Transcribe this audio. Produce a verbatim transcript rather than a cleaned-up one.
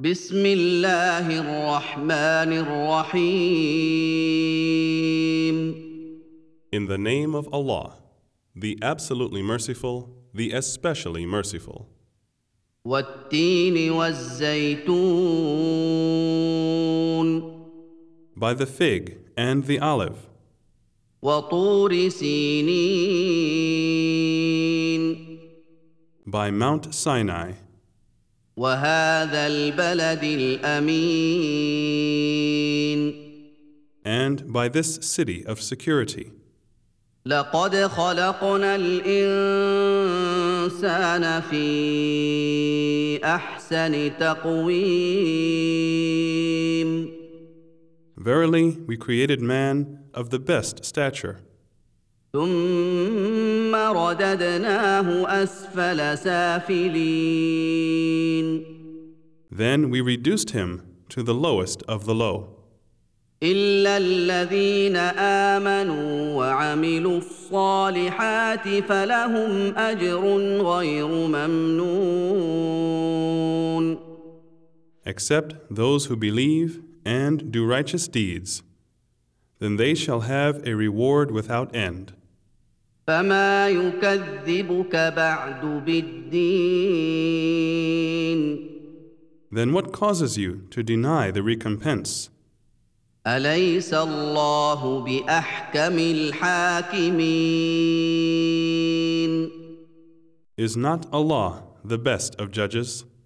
بسم الله الرحمن الرحيم In the name of Allah, the absolutely merciful, the especially merciful. والتين والزيتون By the fig and the olive, وطور سينين by Mount Sinai, وهذا البلد الأمين and by this city of security. لقد خلقنا الإنسان في أحسن تقويم Verily, we created man of the best stature. ثم رددناه أسفل سافلين Then we reduced him to the lowest of the low. إلا الذين آمنوا وعملوا الصالحات فلهم أجر غير ممنون Except those who believe and do righteous deeds, then they shall have a reward without end. فما يكذبك بعد بالدين Then what causes you to deny the recompense? أليس الله بأحكم الحاكمين Is not Allah the best of judges?